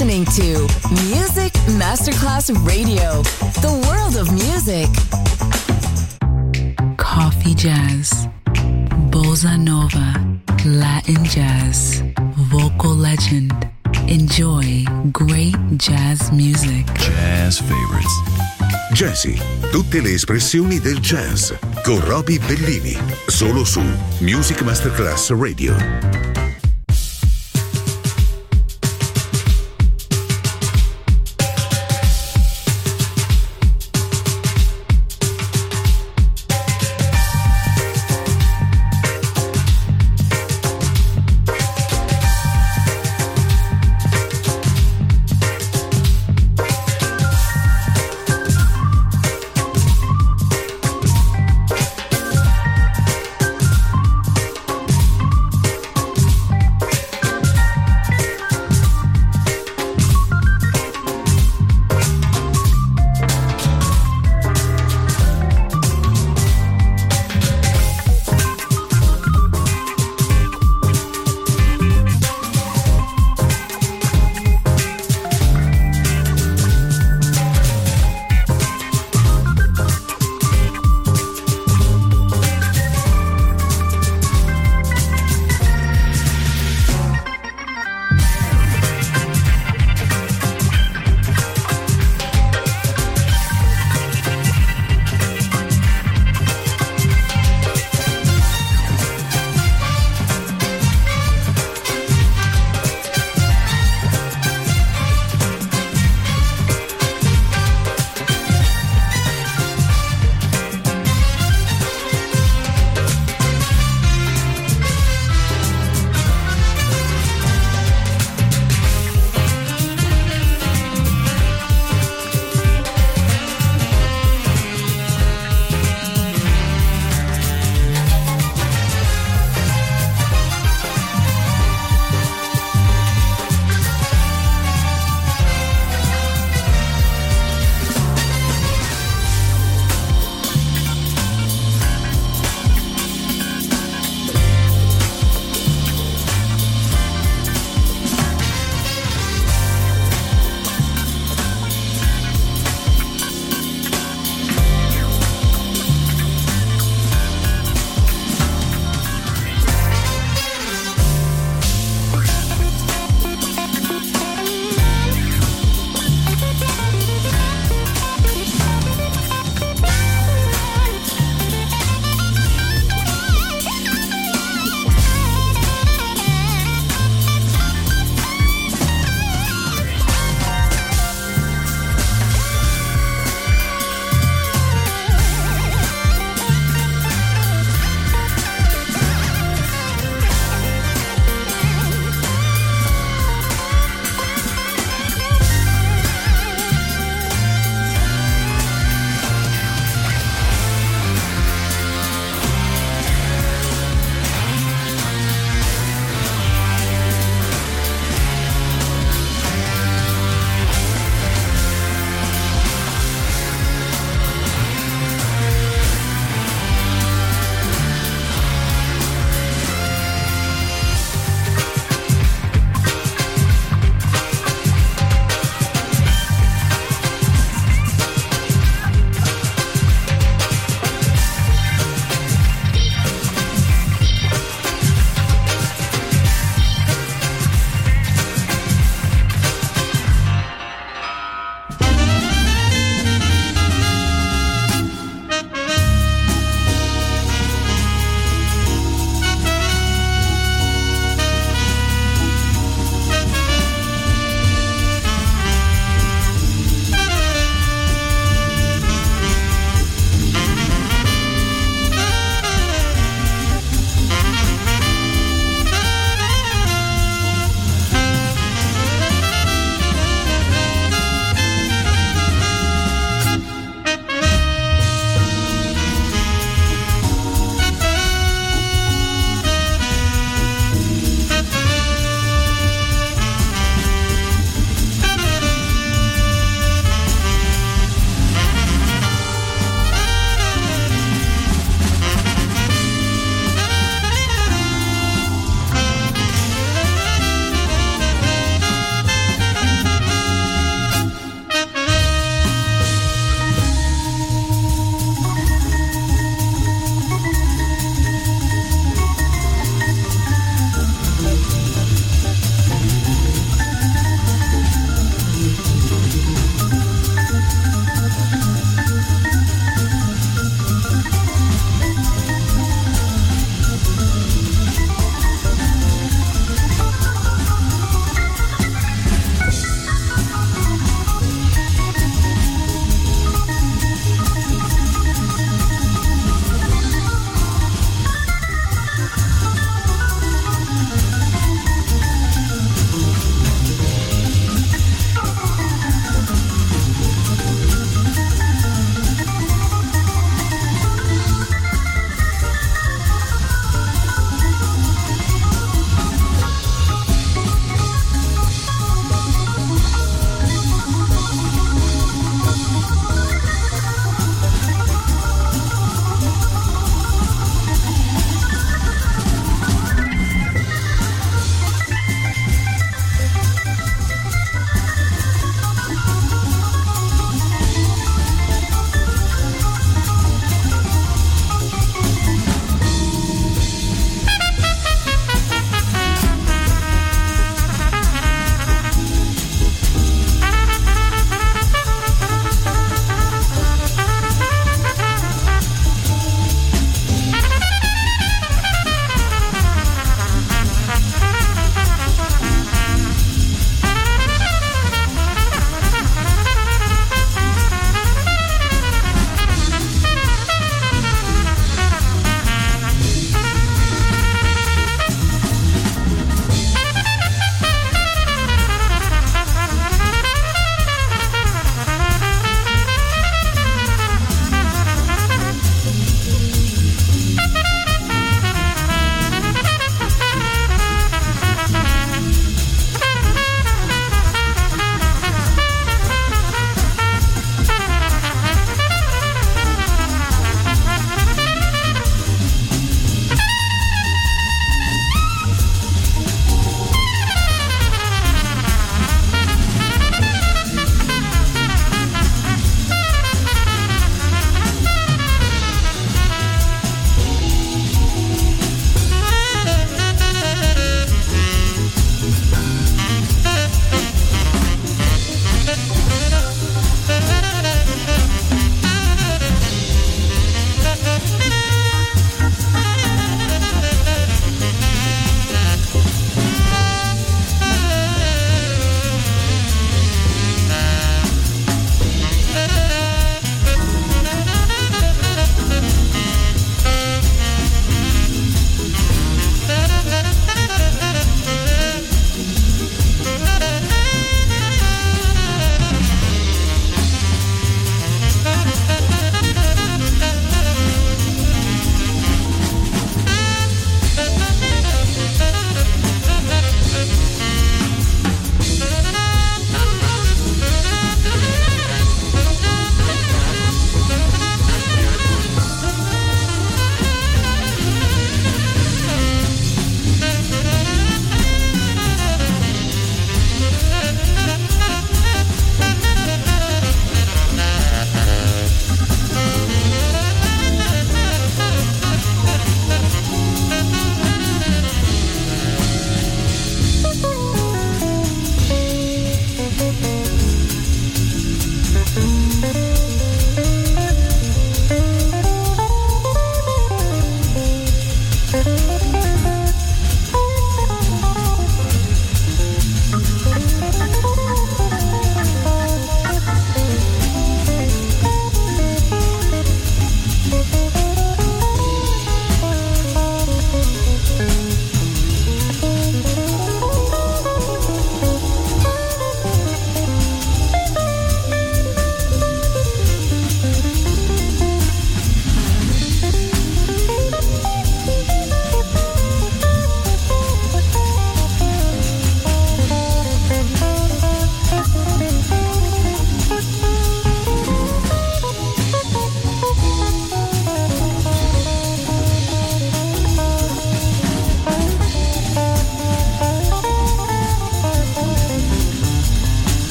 listening to Music Masterclass Radio, the world of music. Coffee jazz, bossa nova, Latin jazz, vocal legend. Enjoy great jazz music. Jazz favorites. Jazzy, tutte le espressioni del jazz con Roby Bellini, solo su Music Masterclass Radio.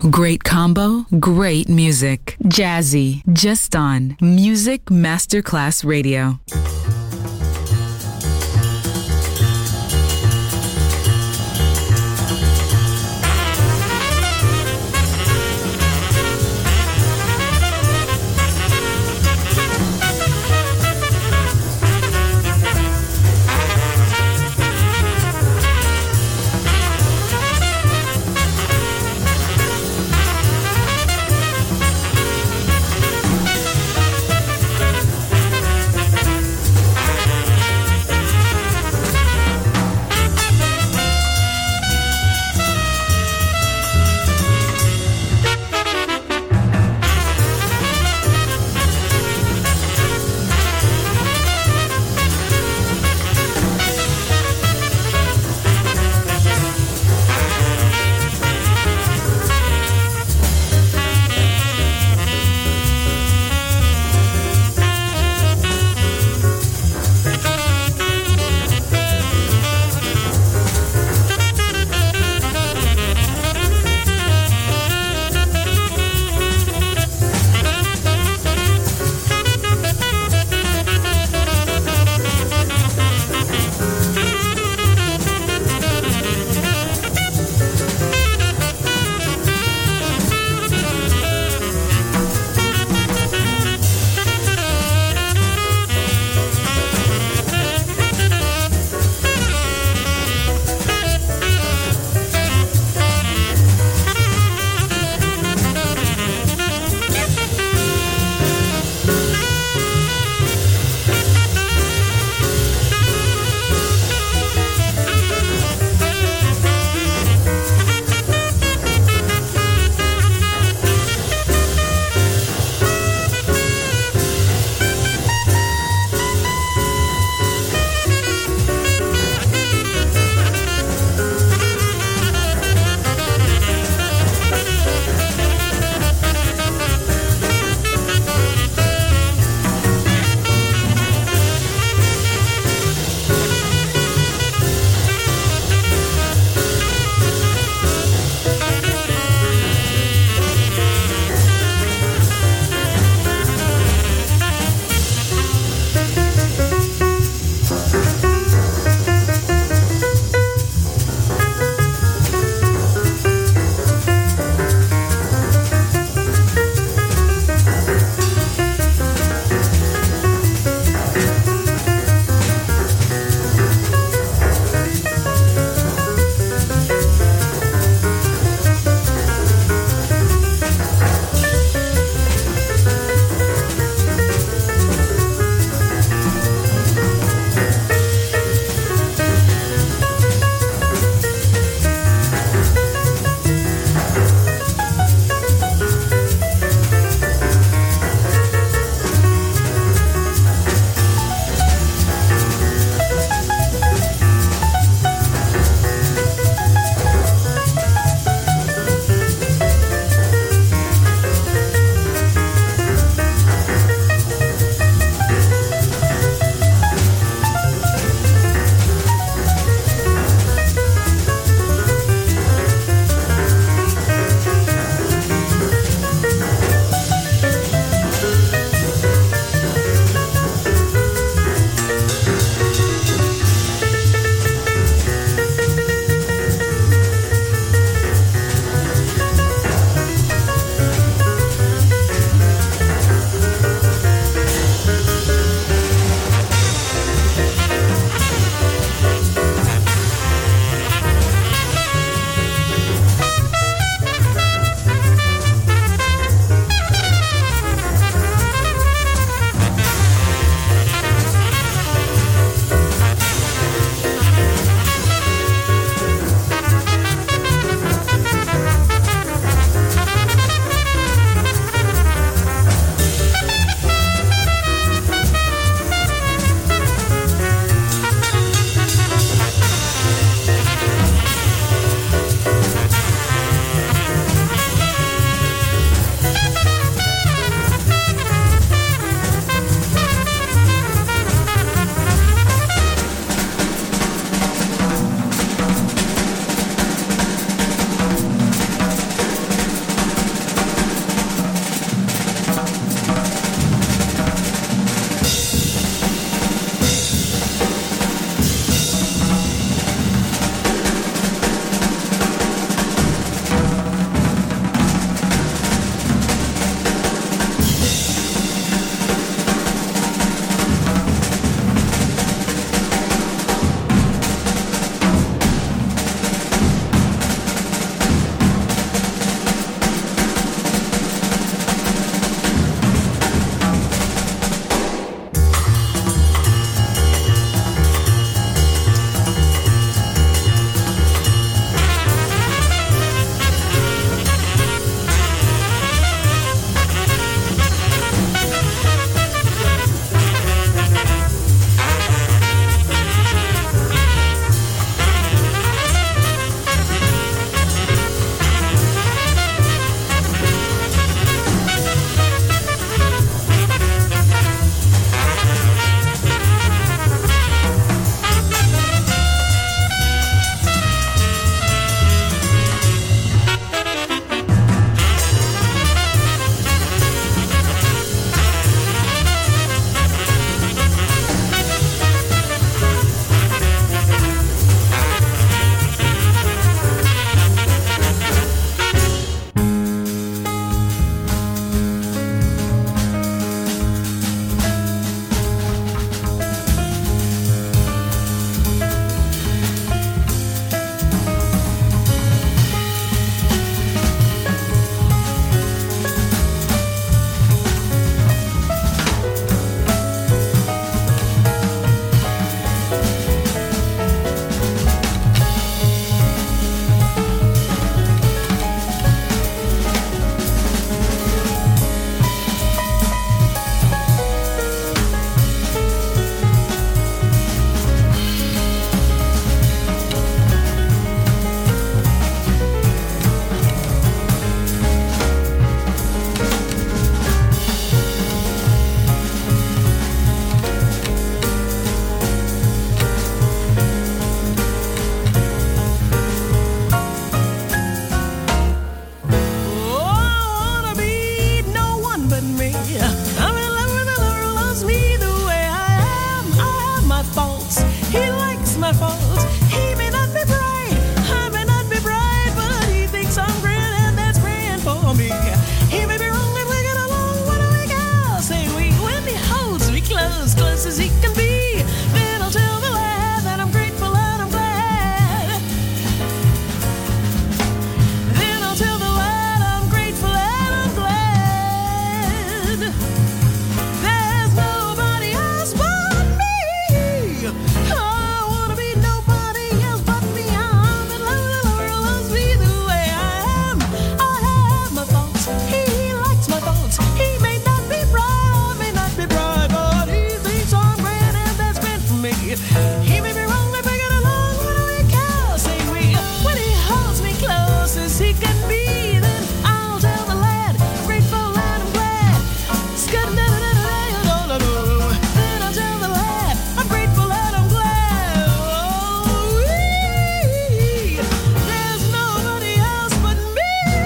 Great combo, great music. Jazzy, just on Music Masterclass Radio. faults. He likes my faults. He may not be bright, I may not be bright, but he thinks I'm grand, and that's grand for me. He may be wrong and we get along when we go. Say we when he holds me close, close as he can be. Then I'll tell the lad that I'm grateful and I'm glad. Then I'll tell the lad I'm grateful and I'm glad. There's nobody else but me. I wanna be nobody else but me. I'm in love with the world, loves me the way I am. I have my faults, he likes my faults. He may not be bright, I may not be bright, but he thinks I'm grand, and that's grand for me. He may be wrong, but we get along when we can. Say we, when he holds me close as he can be, then I'll tell the lad I'm grateful and I'm glad. Then I'll tell the lad I'm grateful and I'm glad. Oh, there's nobody else but me.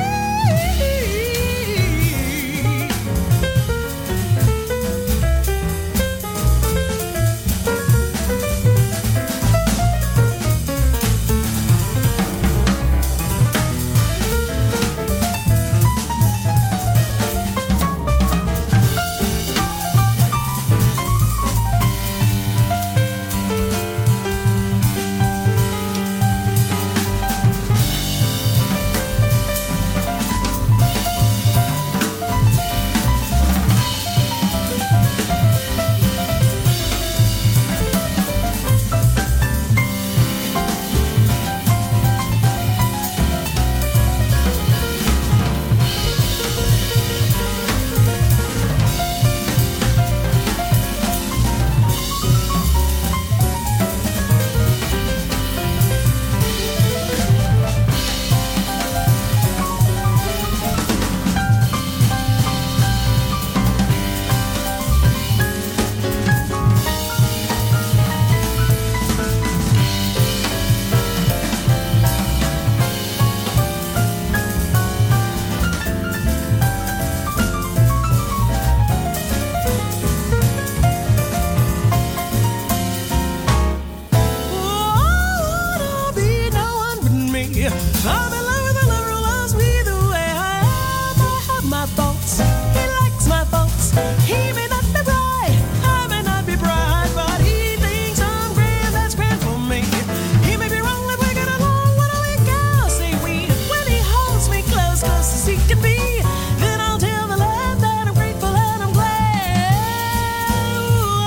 I'm in love with a lover who loves me the way I am. I have my faults, he likes my faults. He may not be bright, I may not be bright, but he thinks I'm grand, that's grand for me. He may be wrong, but we get along when we go. Say we, when he holds me close, close as he can be, then I'll tell the lad that I'm grateful and I'm glad.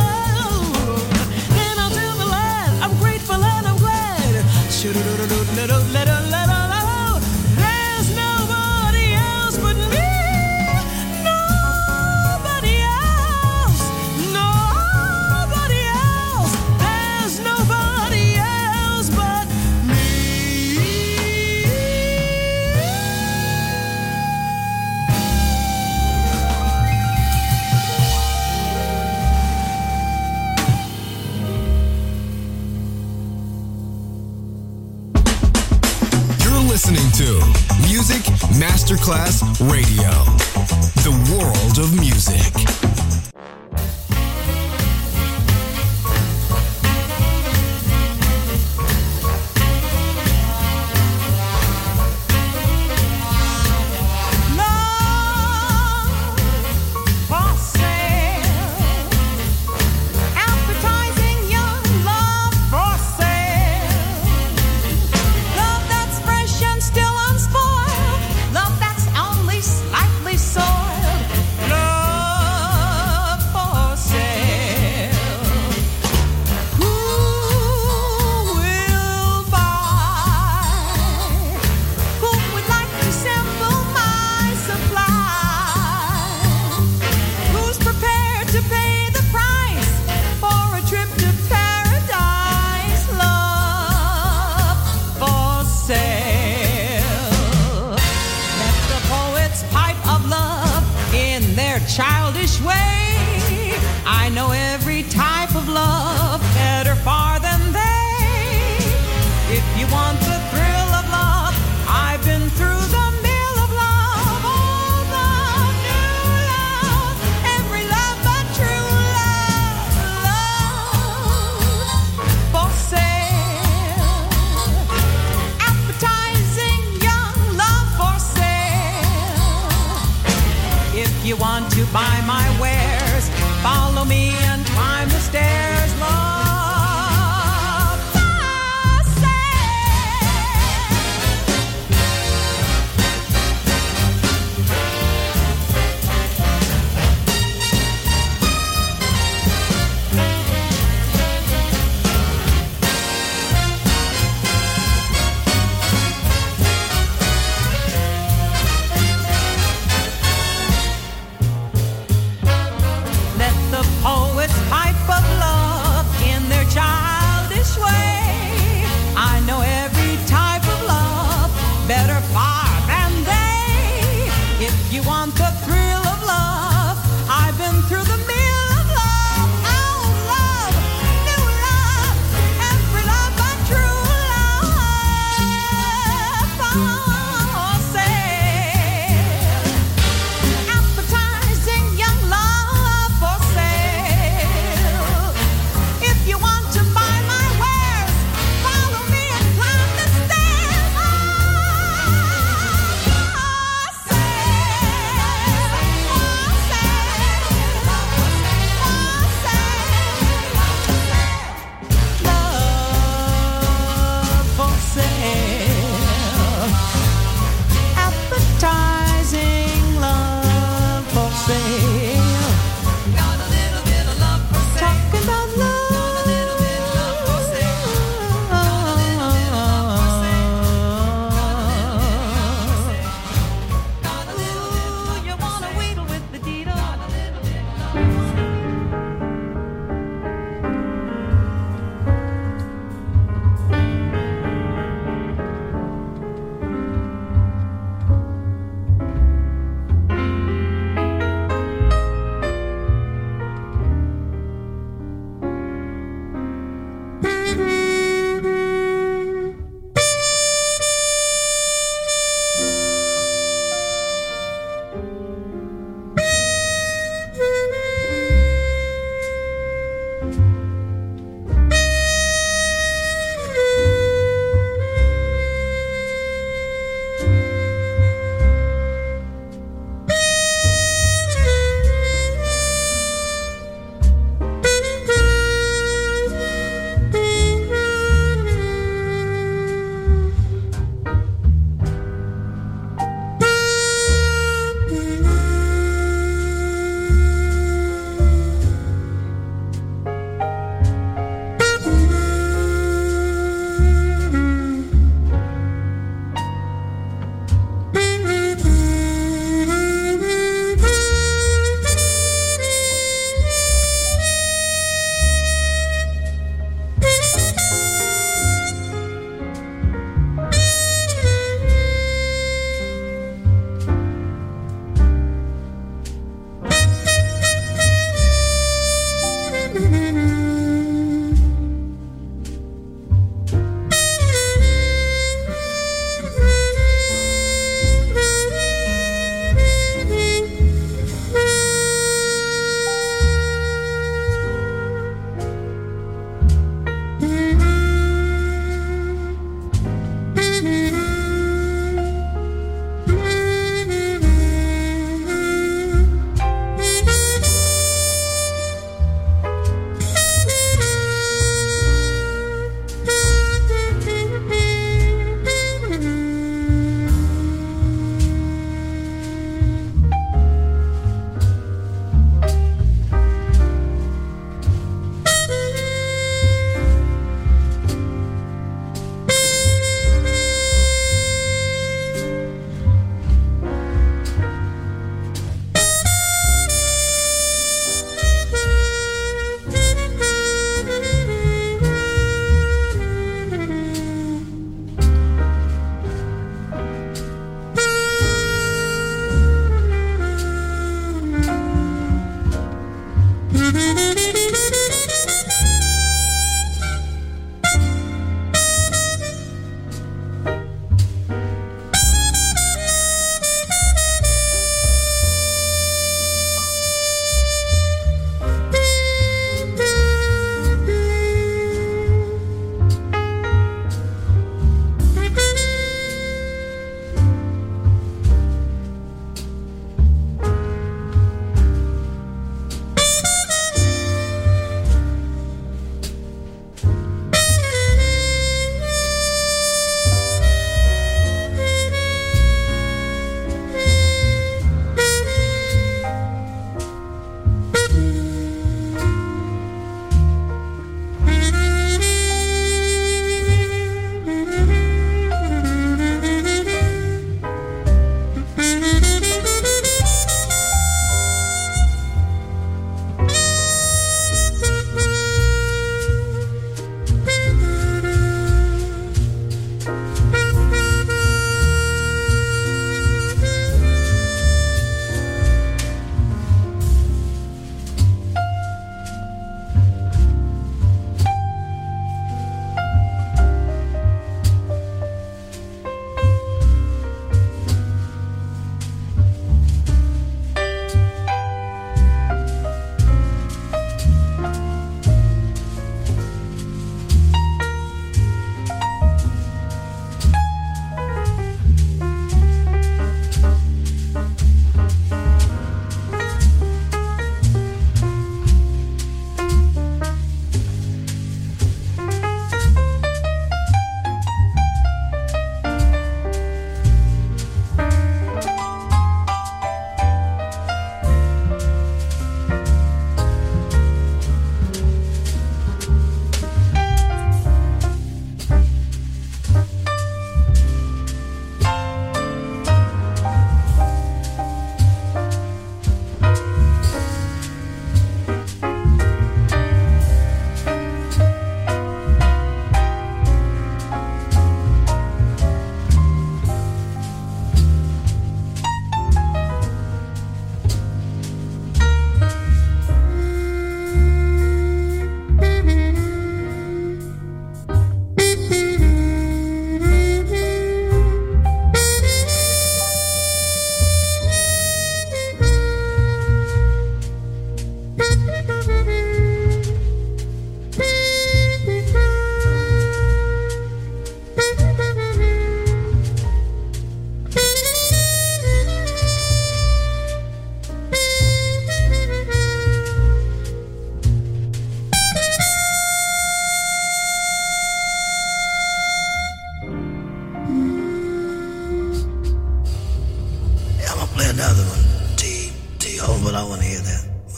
Then I'll tell the lad I'm grateful and I'm glad. There's nobody else but me. Nobody else. Nobody else. There's nobody else but me. Listening to Music Masterclass Radio, the world of music. Love that's only slightly soiled. Love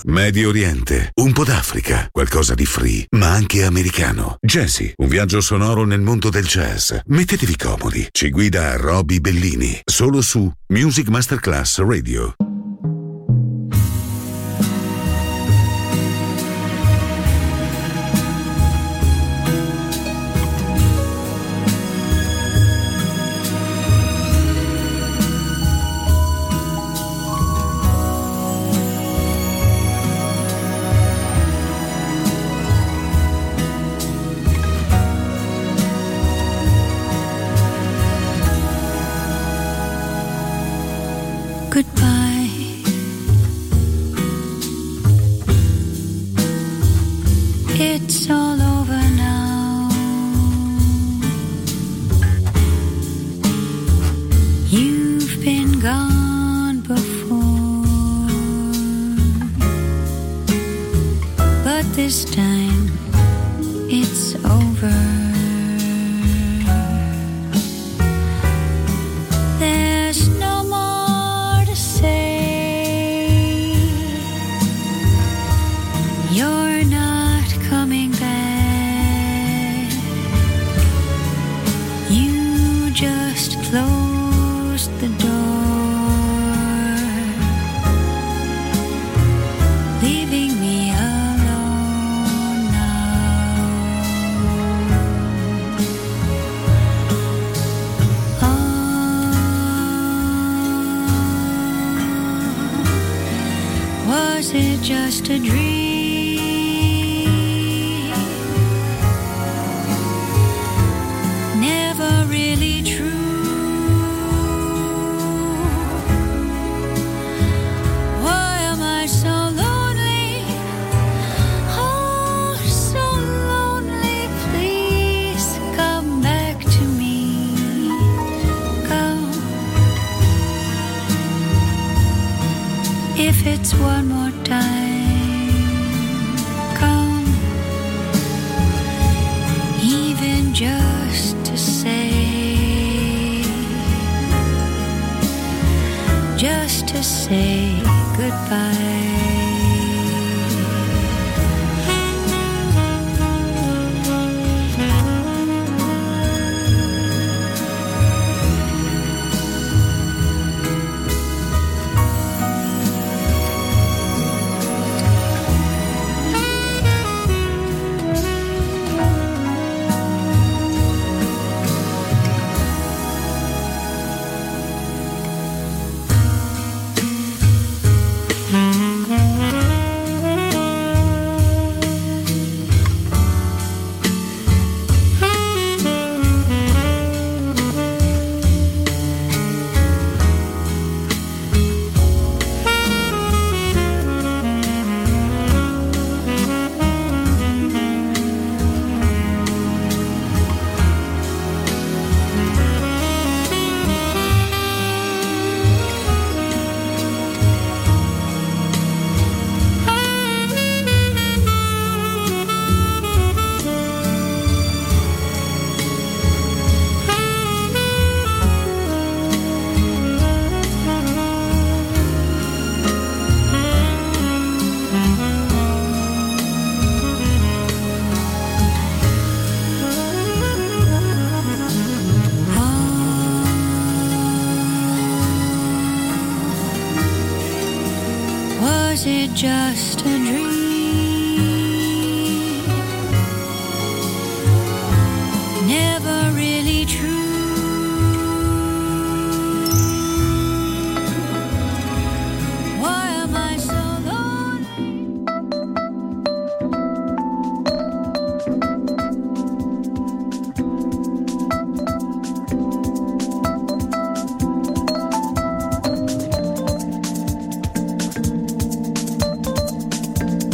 Medio Oriente, un po' d'Africa, qualcosa di free, ma anche americano. Jazzy, un viaggio sonoro nel mondo del jazz. Mettetevi comodi, ci guida Roby Bellini, solo su Music Masterclass Radio. Goodbye. It's all over now. You've been gone before, but this time it's over. There's no more to say. You're not coming back. You just closed the door, leaving me alone now. Was it just a dream? Never really true. Why am I so lonely? Oh, so lonely. Please come back to me. Come. If it's one more time, come, even just to say goodbye. Was it just a dream? Never really true. Why am I so lonely?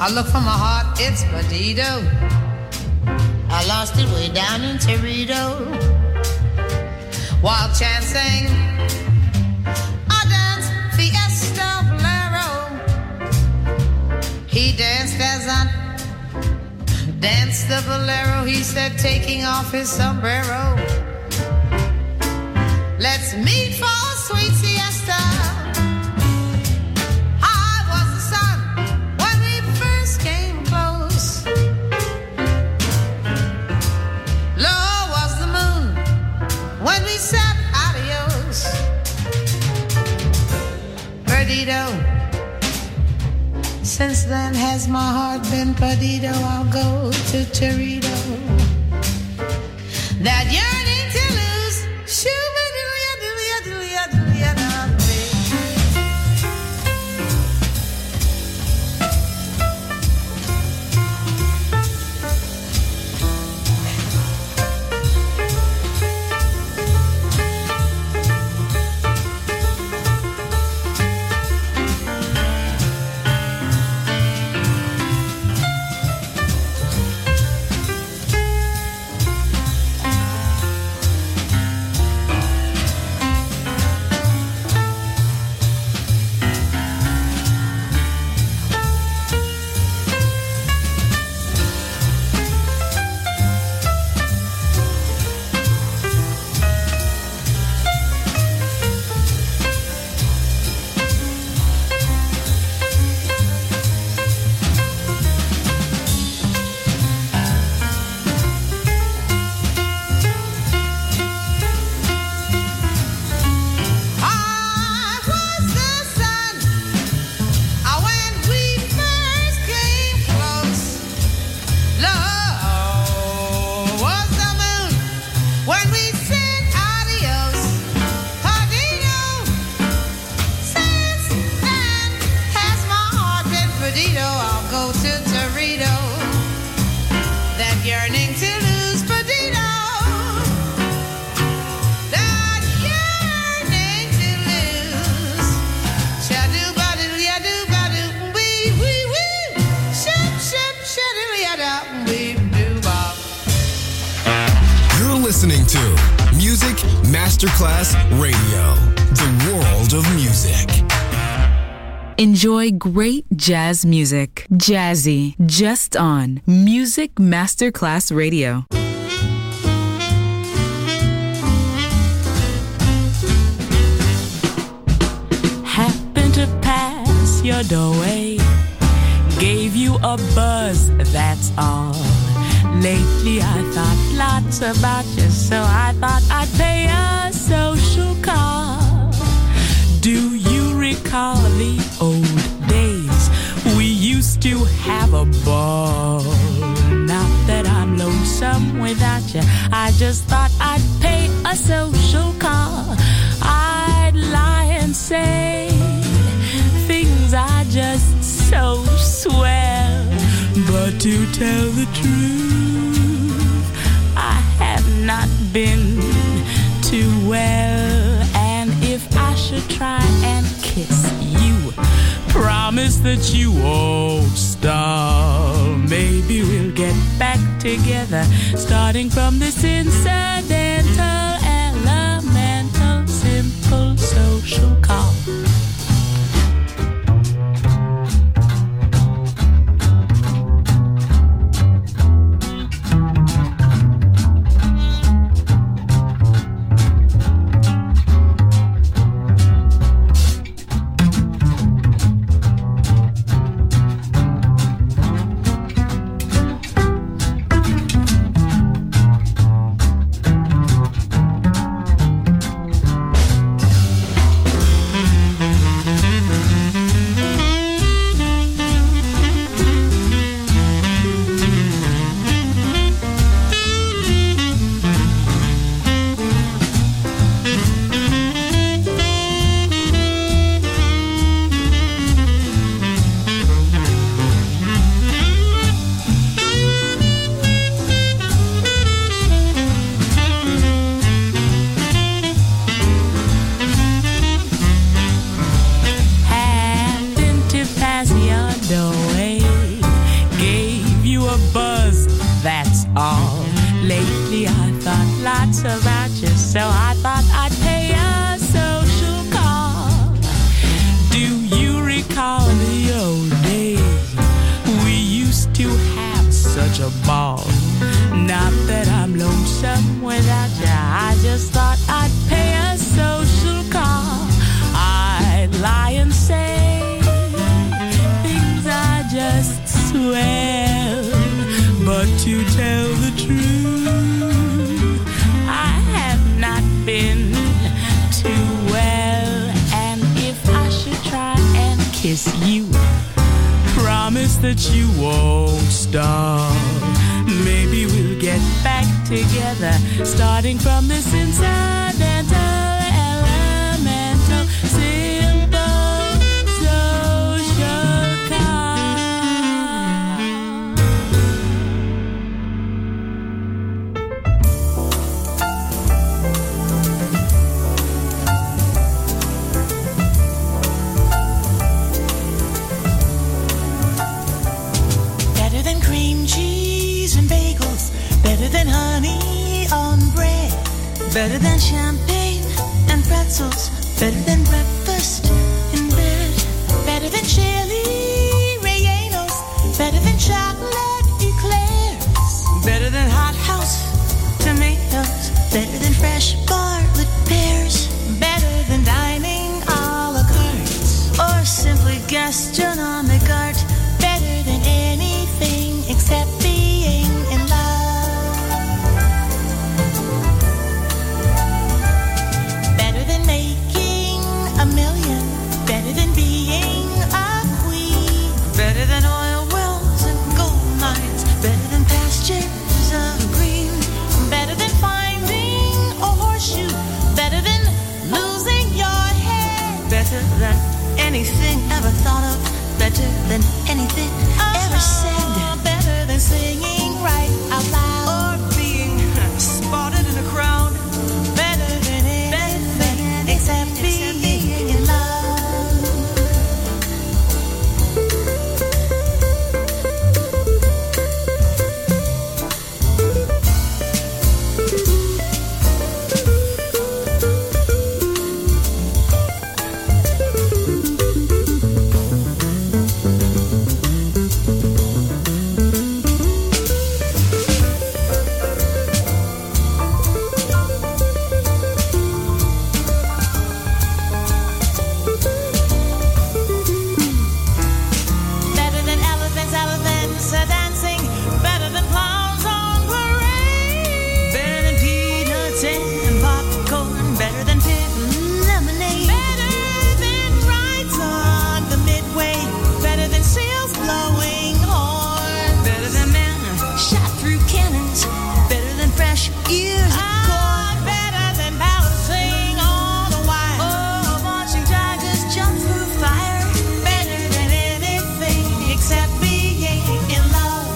I look for my heart, it's perdido. I lost it way down in Torito while chancing a dance fiesta bolero. He danced as I danced the bolero. He said, taking off his sombrero, let's meet for a sweet siesta. I was the sun when we first came close. Low was the moon when we said adios. Perdido. Since then has my heart been perdido. I'll go to Torito. That yearning to lose. Listening to Music Masterclass Radio, the world of music. Enjoy great jazz music. Jazzy, just on Music Masterclass Radio. Happened to pass your doorway, gave you a buzz, that's all. Lately I thought lots about you, so I thought I'd pay a social call. Do you recall the old days? We used to have a ball. Now that I'm lonesome without you, I just thought I'd pay a social call. I'd lie and say things are just so swell, but to tell the truth, I have not been too well. And if I should try and kiss you, promise that you won't stall. Maybe we'll get back together, starting from this incidental, elemental, simple social call. Lately I thought lots about you, so I thought I'd pay a social call. Do you recall the old days? We used to have such a ball. Not that I'm lonesome without you, I just thought I'd pay a social call. I'd lie and say things are just swell, but to tell the truth, I have not been too well. And if I should try and kiss you, promise that you won't stop. Maybe we'll get back together, starting from this incidental, elemental, simple social call. Better than cream cheese and bagels, better than honey on bread, better than champagne and pretzels, better than breakfast in bed, better than chili rellenos, better than chocolate eclairs, better than hothouse tomatoes, better than fresh Bartlett pears, better than dining a la carte, or simply gastronomic art, better than anything except being in love. Better than making a million, better than being a queen, better than oil wells and gold mines, better than pastures of green, better than finding a horseshoe, better than losing your head, better than anything ever thought of, better than anything ever said, better than singing right out loud, or being spotted in a crowd, better than anything except being in love. Better than elephants, elephants are dancing, better than clowns on parade, better than peanuts and popcorn, better than pit lemonade, better than rides on the Midway, better than sails blowing horn, better than men shot through cannons, better than fresh ears of corn, better than balancing on a wire, oh, watching tigers jump through fire, better than anything except being in love.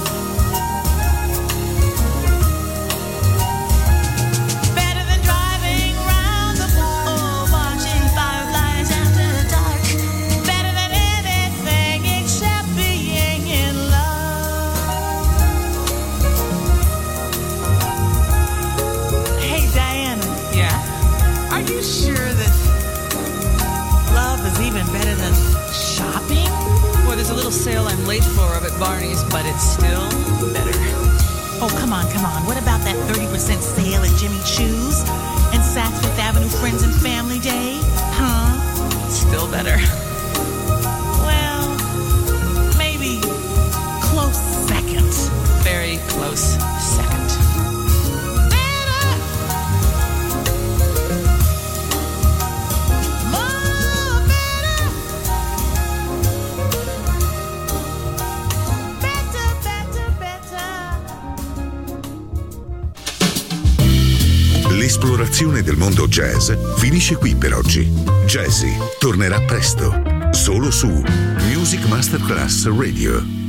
Better than driving round the park, oh, watching fireflies after dark, better than anything except being in love. Hey, Diana. Yeah? Are you sure that love is even better than shopping? Well, there's a little sale I'm late for up at Barney's, but it's still better. Oh, come on, come on. What about that 30% sale at Jimmy Choo's and Saks Fifth Avenue Friends and Family Day? Huh? Still better. Well, maybe close second. Very close second. Better! More better! Better, better, better. L'esplorazione del mondo jazz finisce qui per oggi. Jazzy tornerà presto, solo su Music Masterclass Radio.